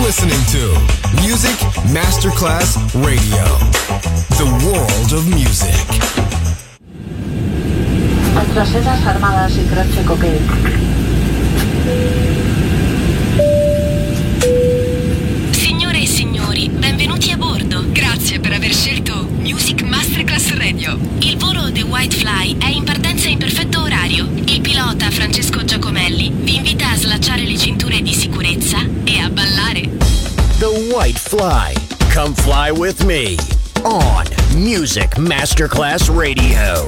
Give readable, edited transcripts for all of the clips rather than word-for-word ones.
listening to Music Masterclass Radio, the world of music. Represas armadas y croce cocaine. Signore e signori, benvenuti a bordo. Grazie per aver scelto Music Masterclass Radio. Il volo The White Fly è in partenza in perfetto orario. Il pilota Francesco Giacomelli vi invita a slacciare le cinture di sicurezza e a ballare. The White Fly. Come fly with me on Music Masterclass Radio.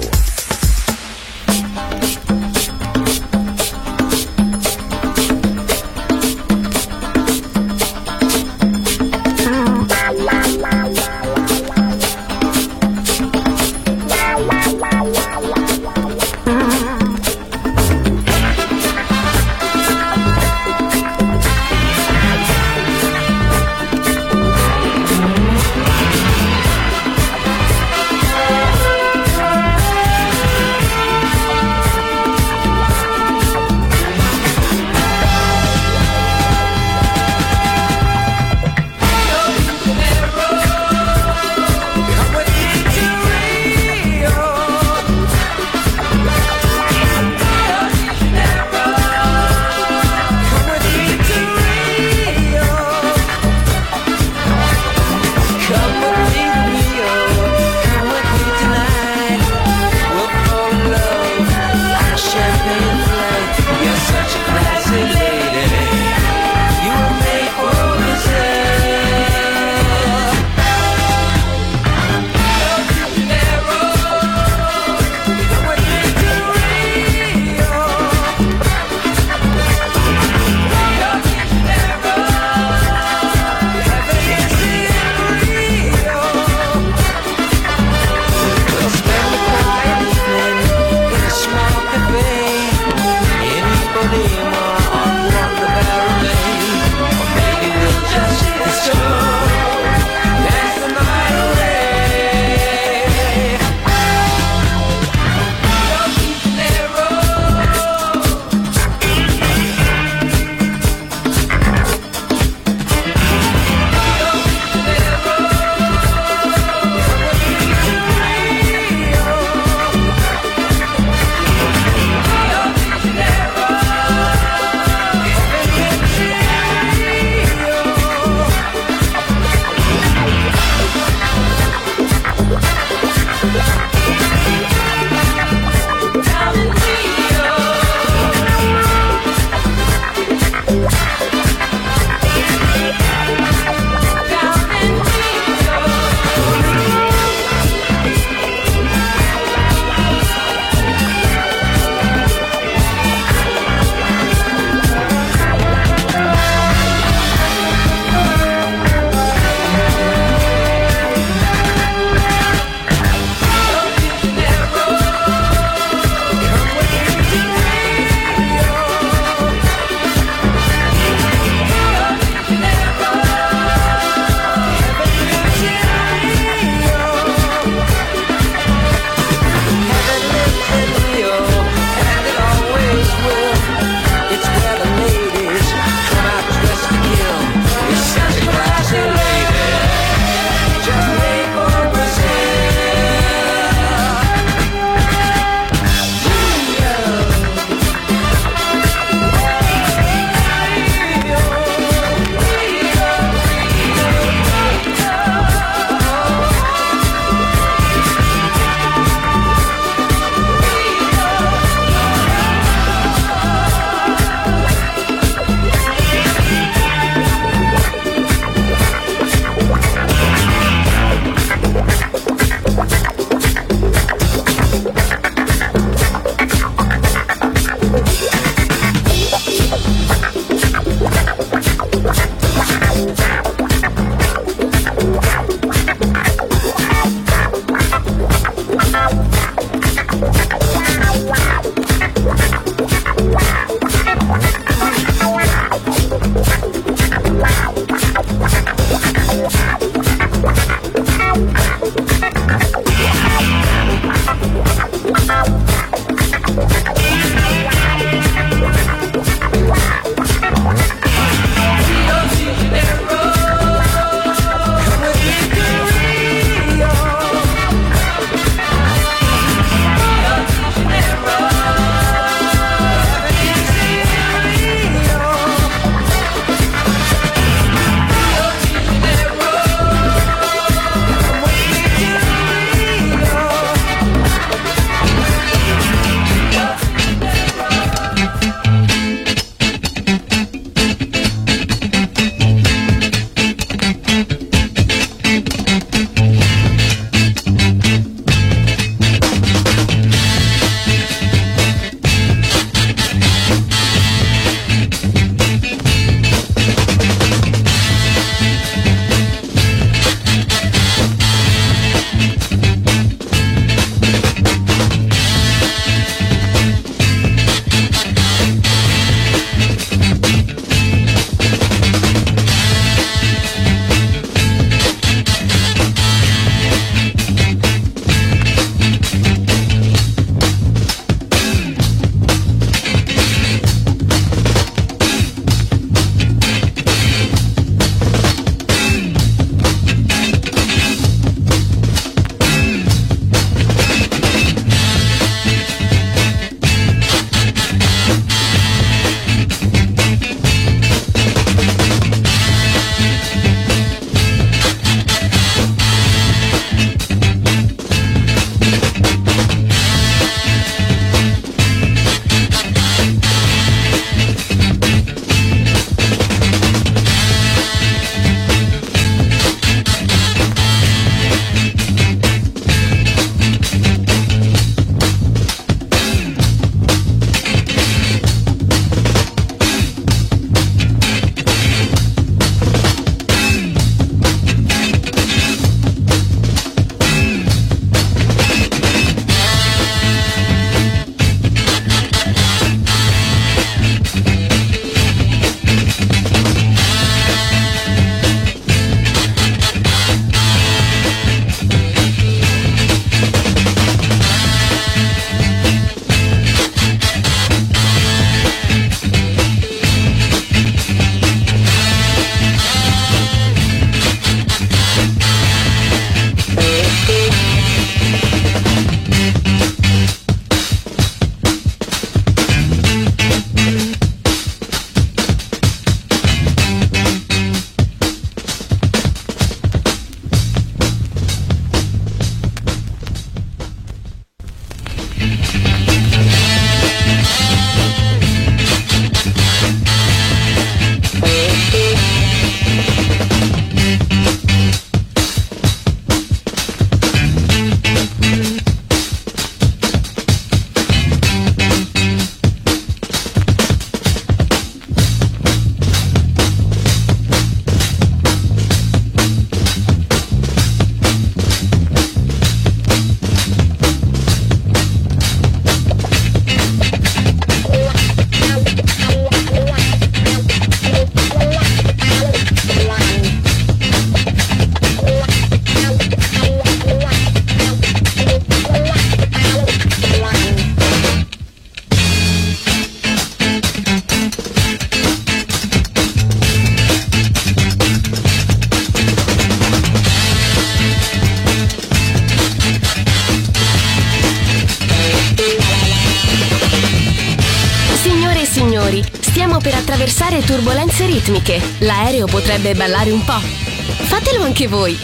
provocare turbolenze ritmiche. L'aereo potrebbe ballare un po'. Fatelo anche voi.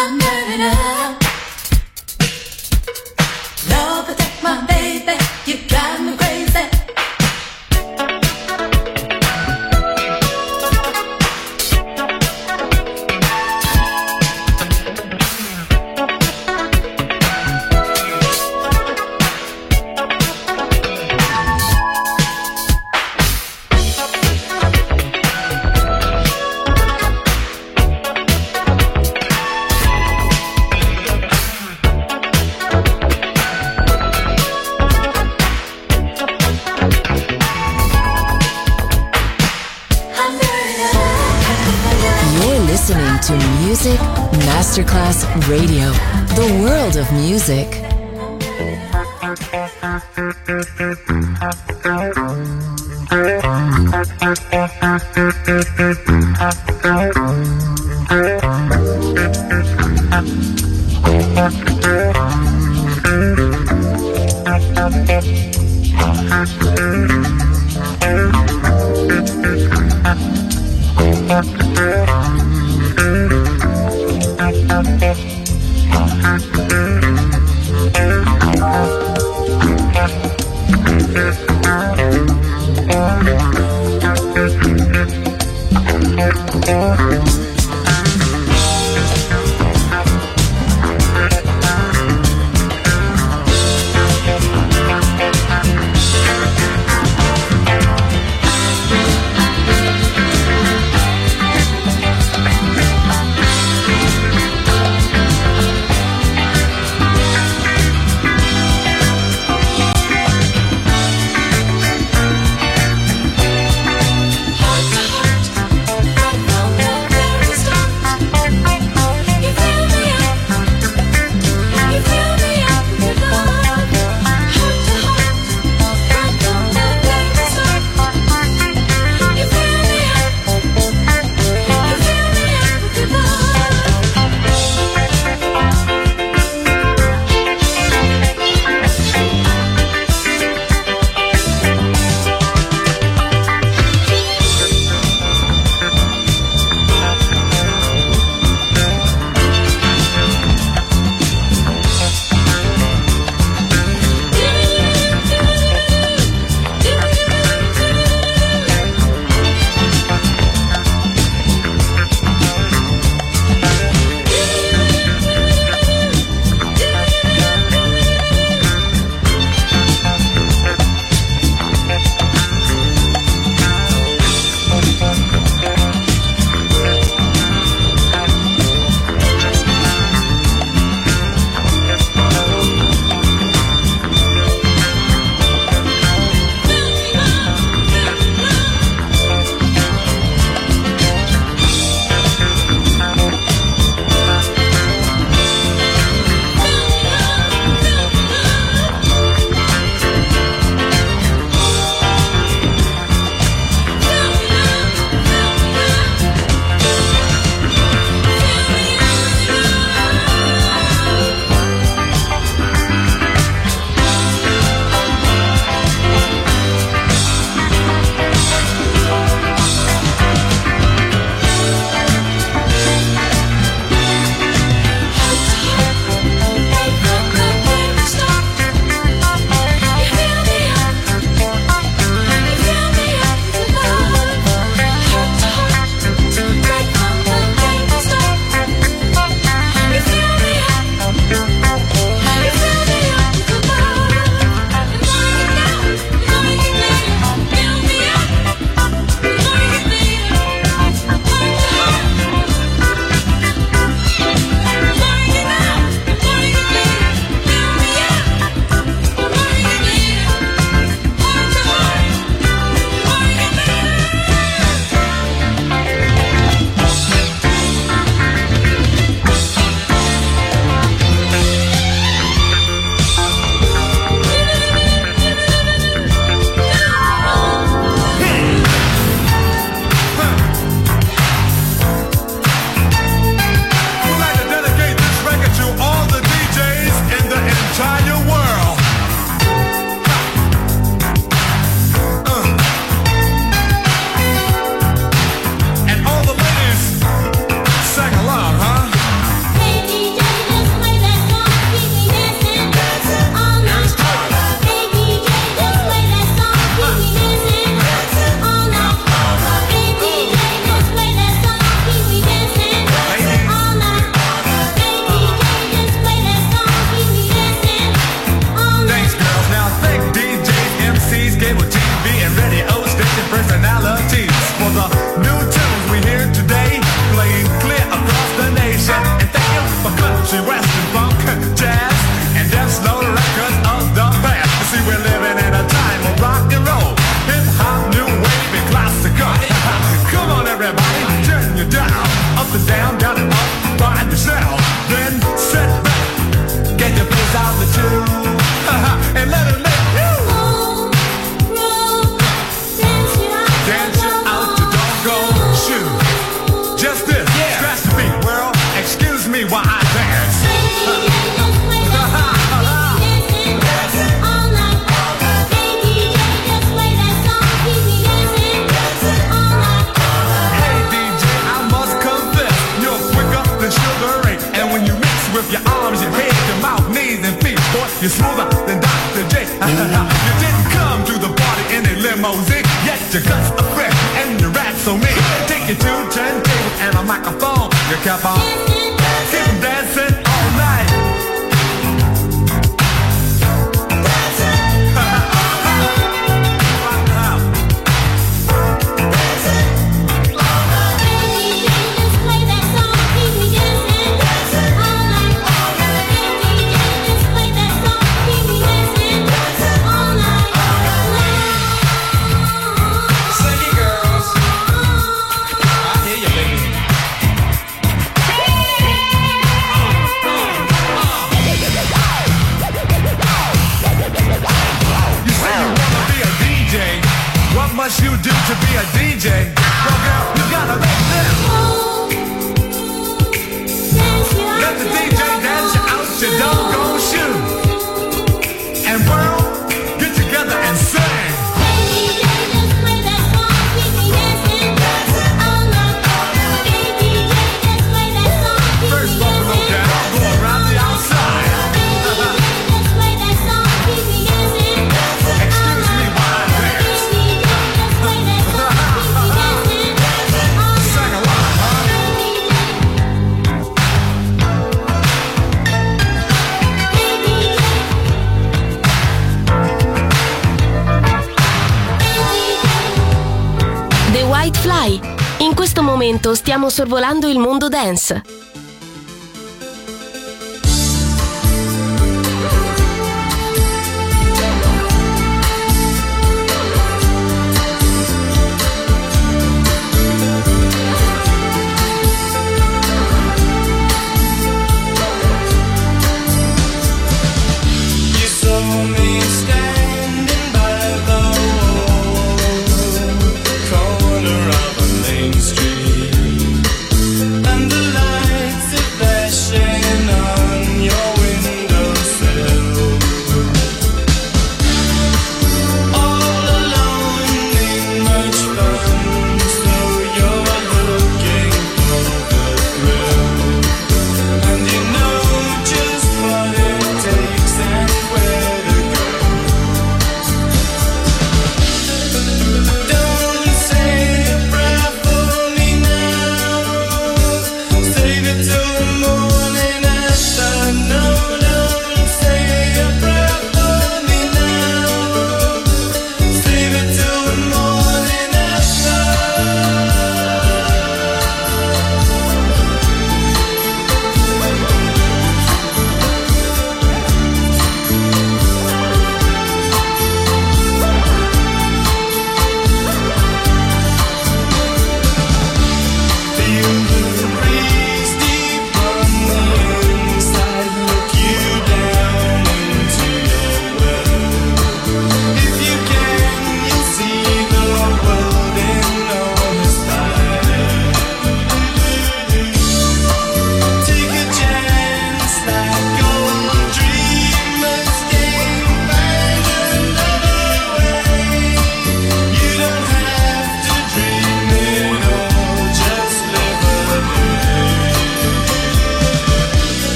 I'm burning up. Lord, protect my baby. You drive me crazy. To Music Masterclass Radio, the world of music. country, western, funk, jazz, and them slow records of the past. You see, we're living in a time of rock and roll, hip hop, new wave, and classical. Come on, everybody, turn you down, up and down, down and up, find yourself, then sit back, get your face out the tune, and let it live. Dance you out your doggone shoe. Just this, scratch the beat, world. Excuse me while I dance. Hey DJ, I must confess, you're quicker than Sugar Ray. And when you mix with your arms, your head, your mouth, knees, and feet, boy, you're smoother than Dr. J. You didn't come to the party in a limousine, yet your guts are fresh and your rats so mean. Take you to turntables and a microphone. You kept on keep dancing all night. What must you do to be a DJ? Well, girl, you gotta let them. Let the DJ dance you out your doggone shoe. And world, get together and sing. First Buffalo down, go around the outside. Excuse me while I dance. Sing along, huh? The White Fly. In questo momento stiamo sorvolando il mondo dance. You saw me standing by the corner of a main street, and the light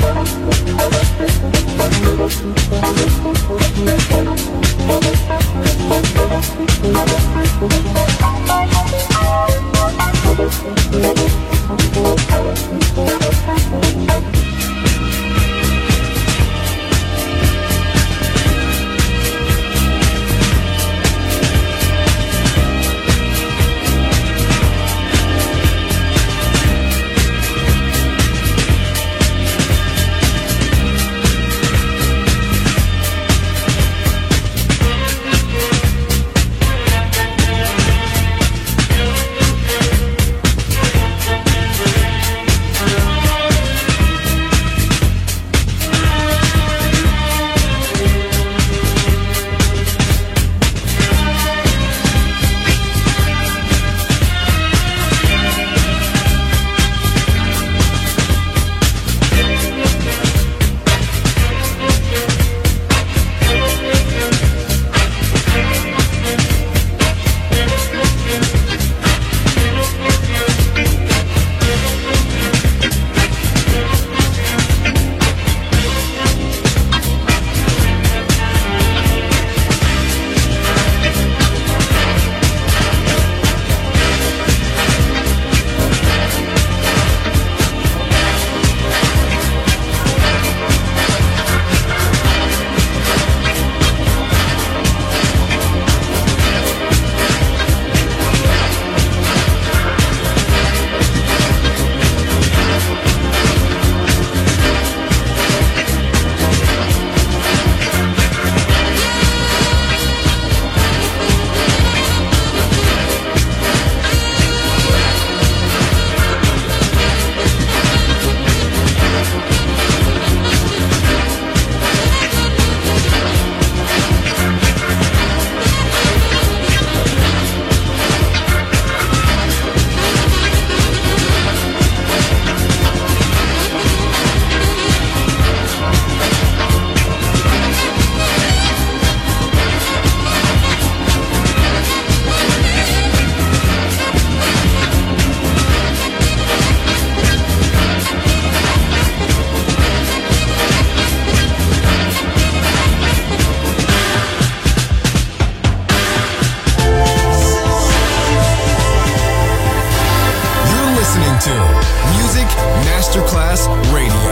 Masterclass Radio.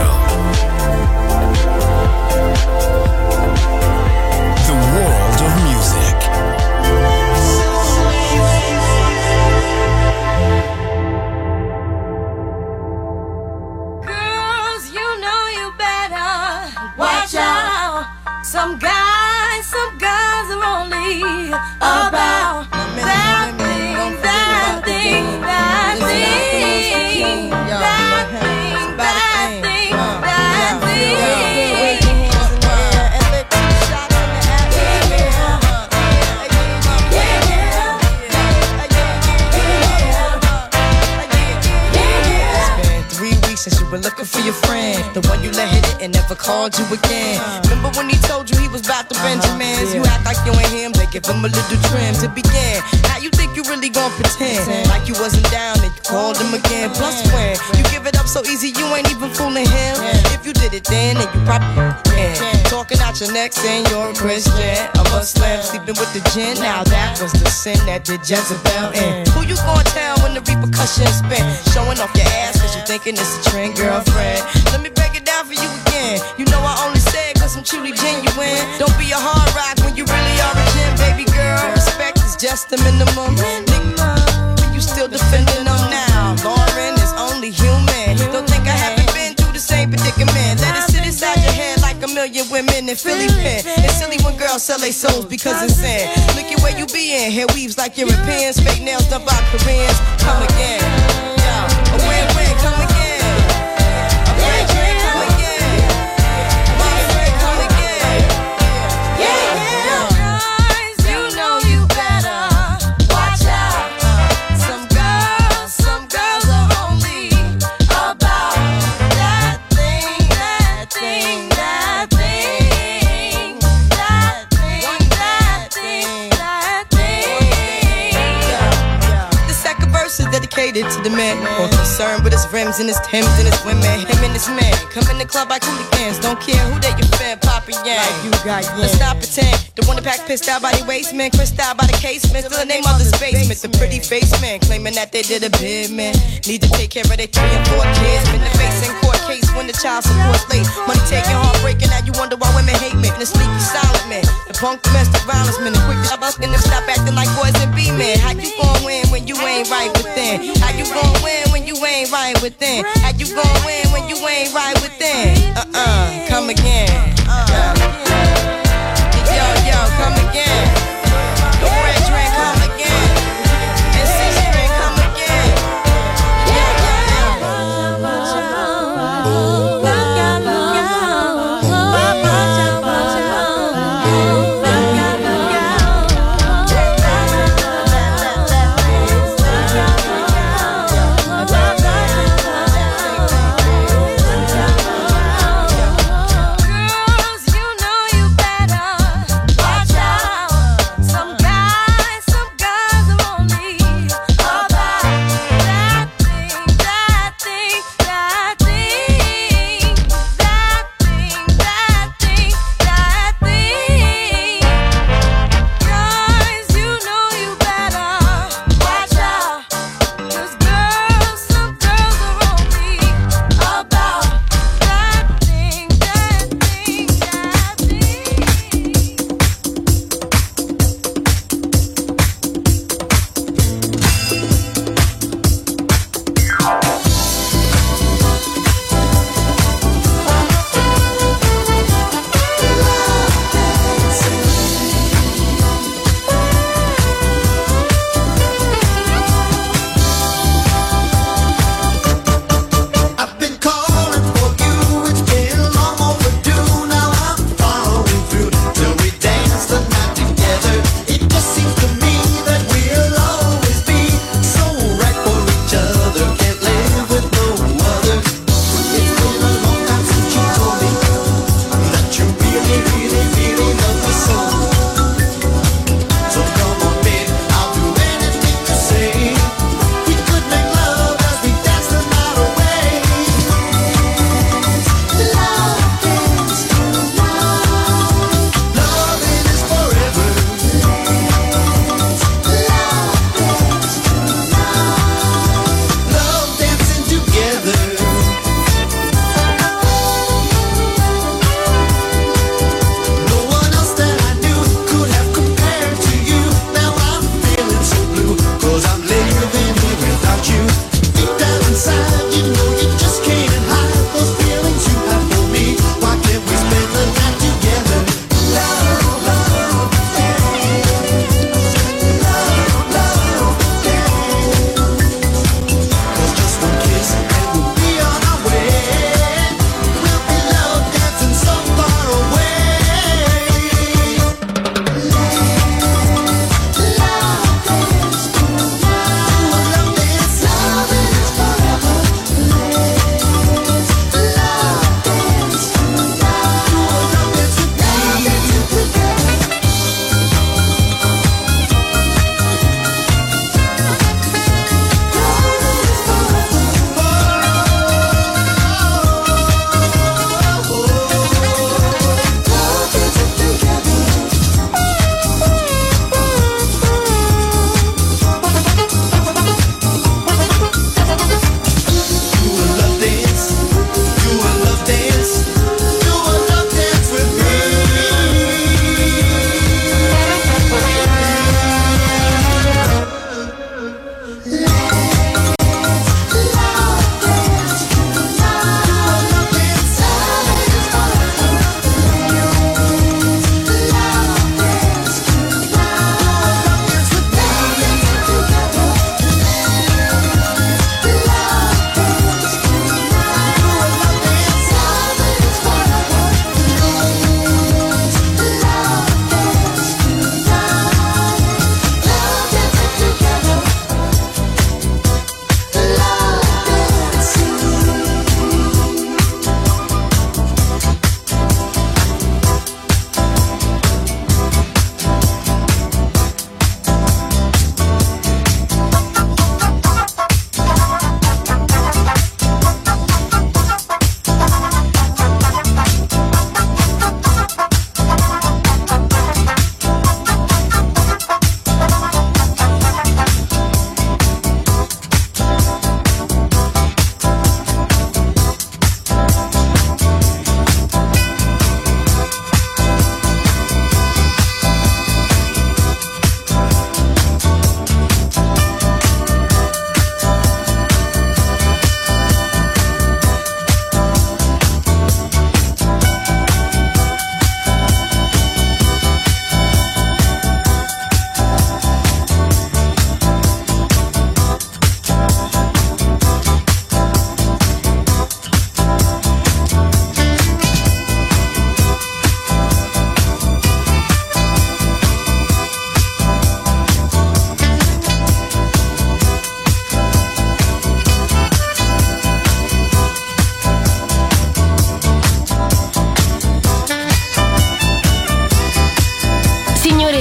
The world of music. Girls, you know you better watch out. Some guys are only about that thing, that thing, that thing, that thing, that thing, that thing. Wave your hands in the air and let them shot in the atmosphere. It's been 3 weeks since you were looking for your friend, the one you let hit it and never called you again. Remember when he told you he was about to Benjamins? You act like you ain't him, they give him a little trim to begin. Now you think you really gon' pretend like you wasn't down and you called him again. Plus when you give it up so easy, you ain't even fooling him. If you did it then you probably can. Talking out your neck saying you're a Christian, a Muslim, sleeping with the gin. Now that was the sin that did Jezebel in. Who you gon' tell when the repercussions spin? Showing off your ass cause you thinking it's a trend, girlfriend. Let me break it down for you again. You know I only say it cause I'm truly genuine. Don't be a hard rock when you really are a gem, baby girl. Respect is just the minimum. Nigga, you still defending them now. Lauren is only human. Don't think I haven't been through the same predicament. Let it sit inside your head like a million women in Philly pen. It's silly when girls sell their souls because it's sin. Look at where you be in. Hair weaves like Europeans. Fake nails done by Koreans. Come again. Yeah, a win-win. Come again. to the man. More concerned with his rims and his Timbs and his women. Him and his man come in the club like hooligans. Don't care who they your fan, Papa Yang. Like you got Yang. Let's not pretend. The one that pack pissed out by the waist, man. Crissed out by the casement. Still the name of the basement. The pretty face man claiming that they did a bid, man. Need to take care of their 3 and 4 kids. Been the face in court case when the child support's late. Money taking, heartbreaking. Now you wonder why women hate me. And the sneaky silent man. The punk domestic violence man. The quick to up and them stop acting like boys and be men. How you gon' win when you ain't right within? How you gon' win when you ain't right within? How you gon' win when you ain't right within? Come again. Yo, come again. The red train come again. And six train come again.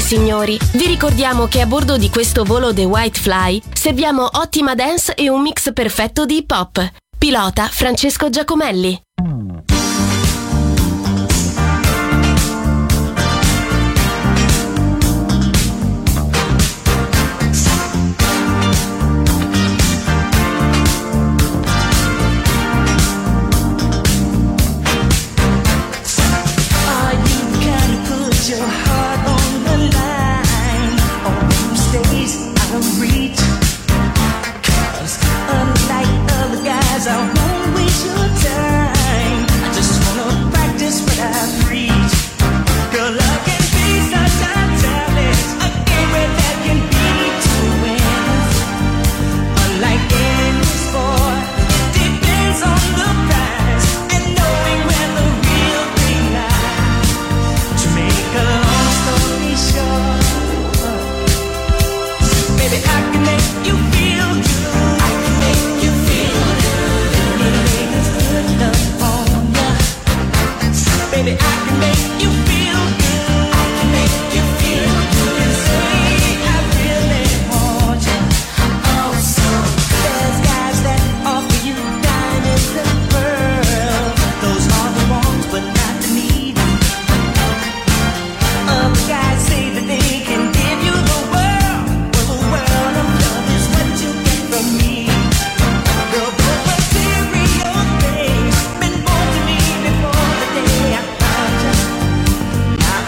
signori, vi ricordiamo che a bordo di questo volo The White Fly serviamo ottima dance e un mix perfetto di hip hop. Pilota Francesco Giacomelli. Your heart on the line, on those days out of reach. 'Cause unlike other guys, I won't waste your time. I just wanna practice what I preach. Girl, love can be such a challenge, a game where there can be two wins. Unlike any sport, it depends on the prize and knowing where the real thing lies. To make a long story short, baby, I can make you feel good. I can make you feel good. When the ladies put love on ya, baby, I can make you feel good. I can make you feel good and say I really want you. Oh, so there's guys that offer you diamonds and pearls. Those are the ones, but not the needy. Other guys say that they can give you the world. Well, the world of love is what you get from me. Girl, the material things been born to me before the day I found you. Now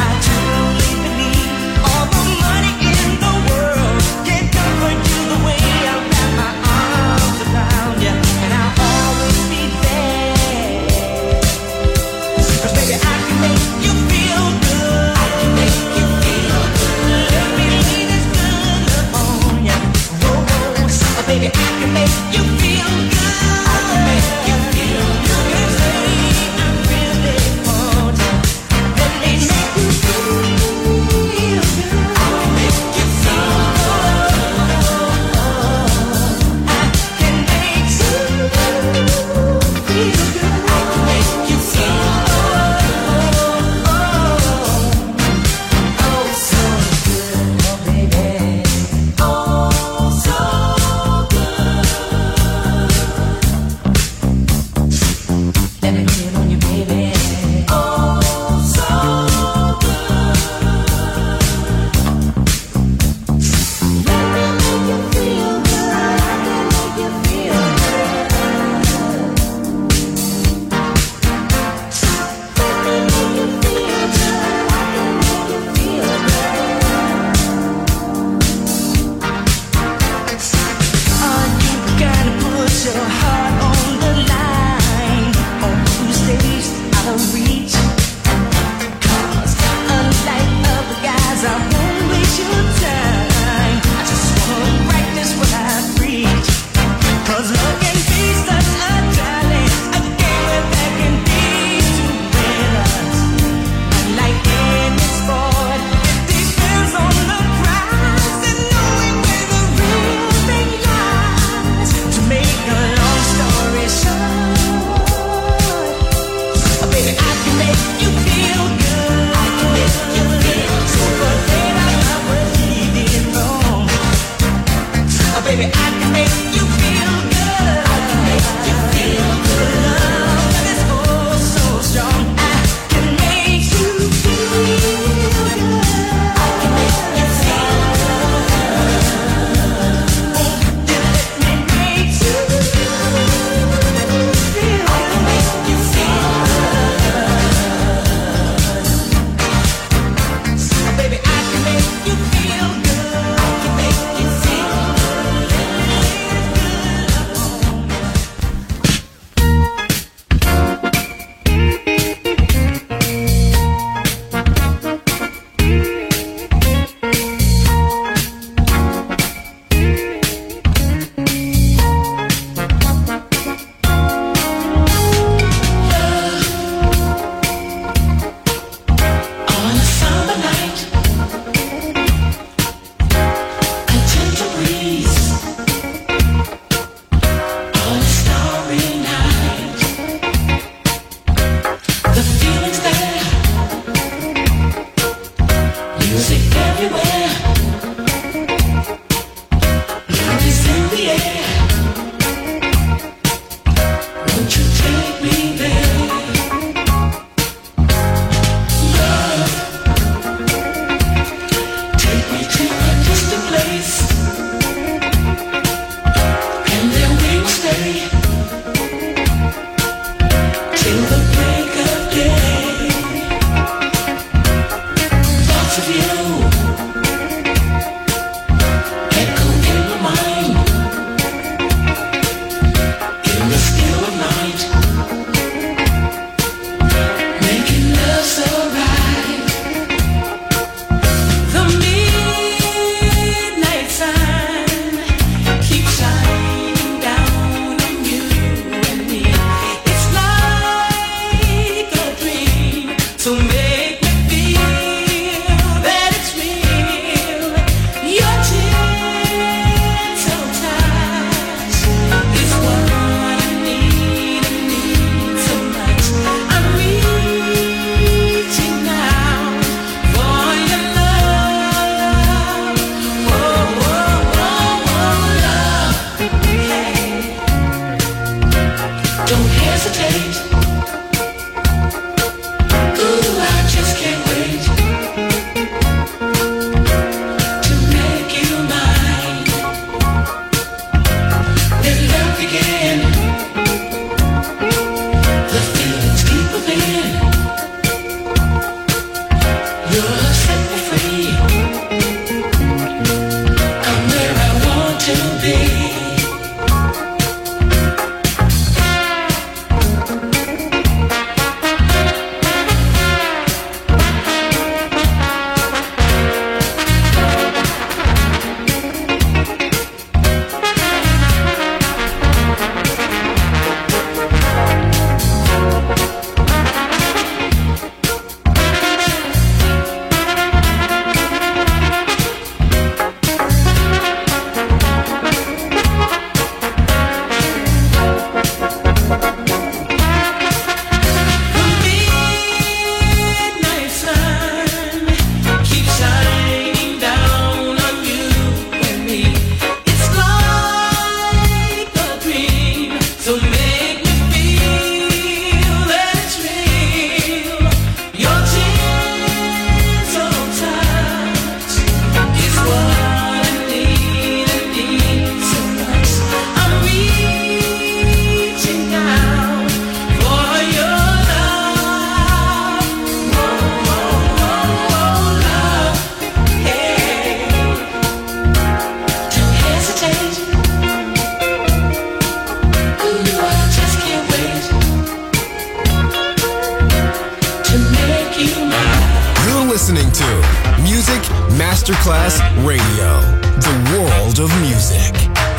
You're listening to Music Masterclass Radio, the world of music.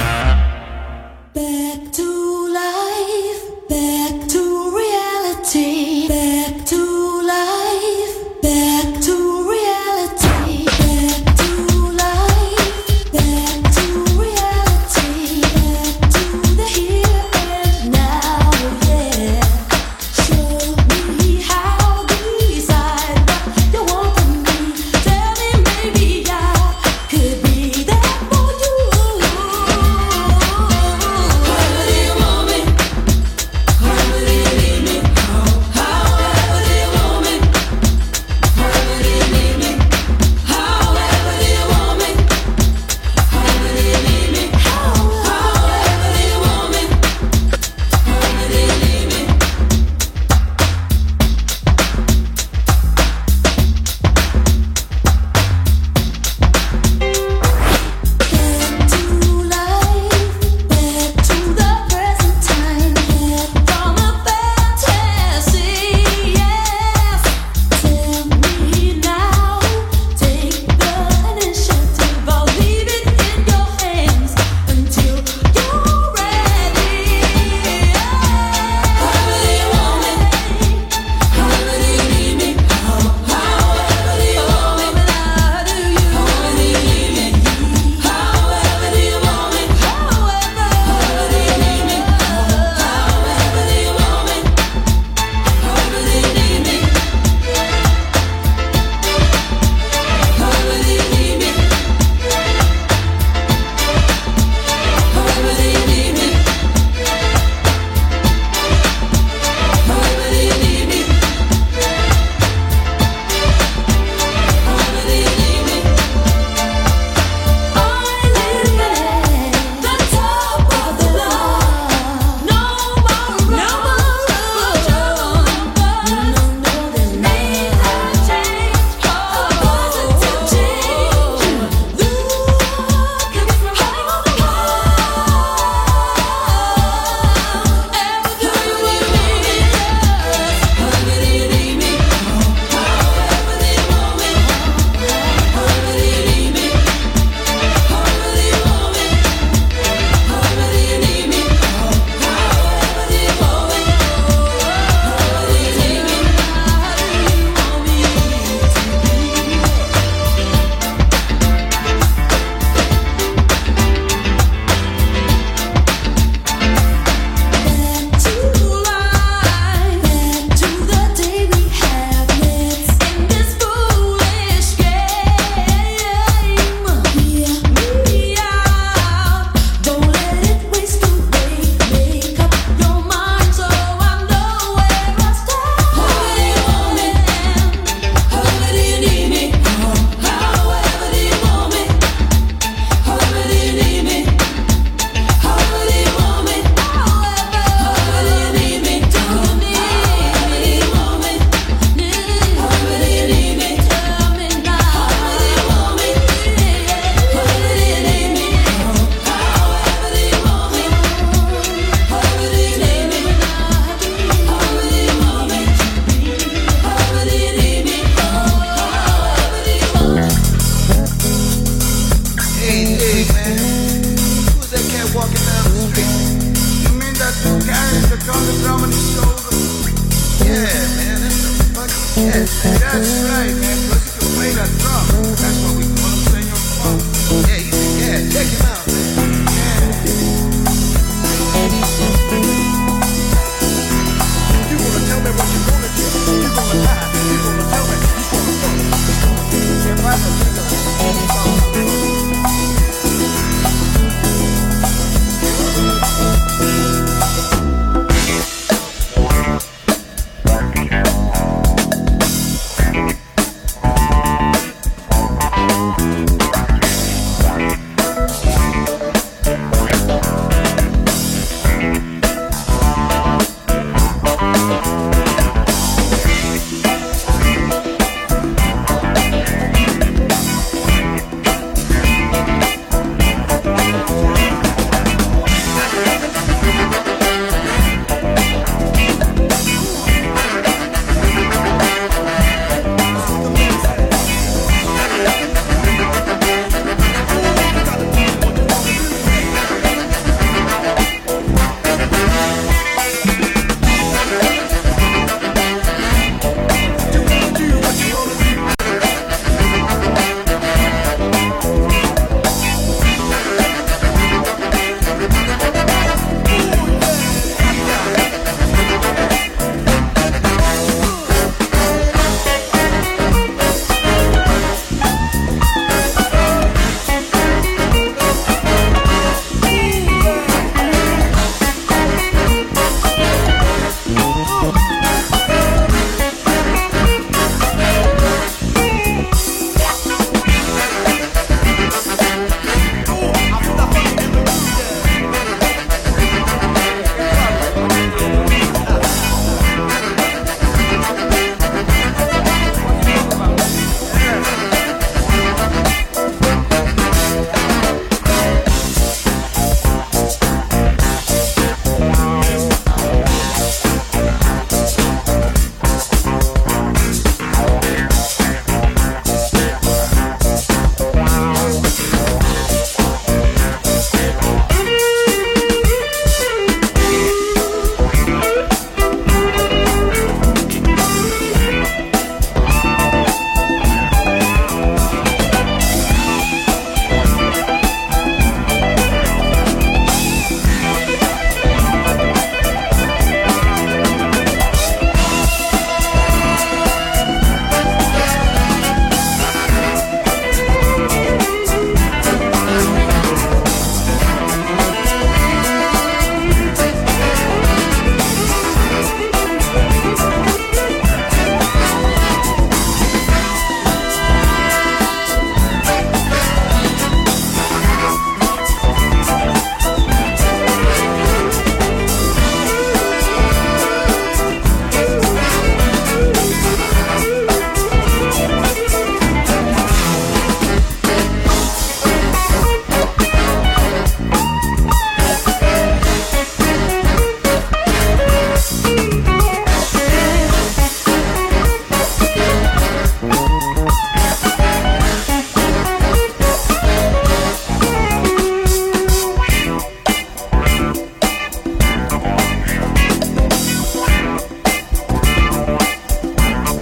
Back to life, back to reality, back to life, back to reality, back to life, back to reality, back to the here and now, yeah. Show me how to decide what you want from me. Tell me maybe I could be there for you.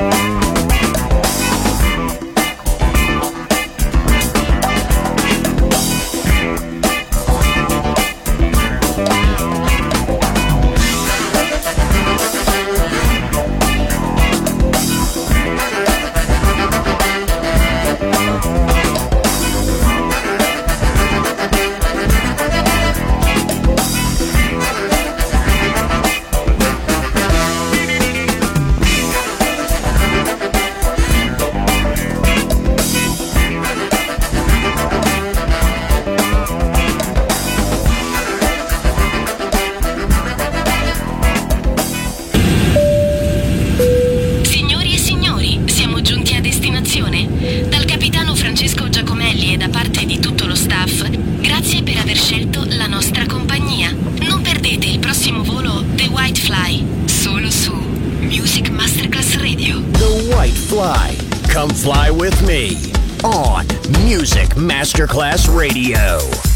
Dal capitano Francesco Giacomelli e da parte di tutto lo staff, grazie per aver scelto la nostra compagnia. Non perdete il prossimo volo The White Fly, solo su Music Masterclass Radio. The White Fly. Come fly with me on Music Masterclass Radio.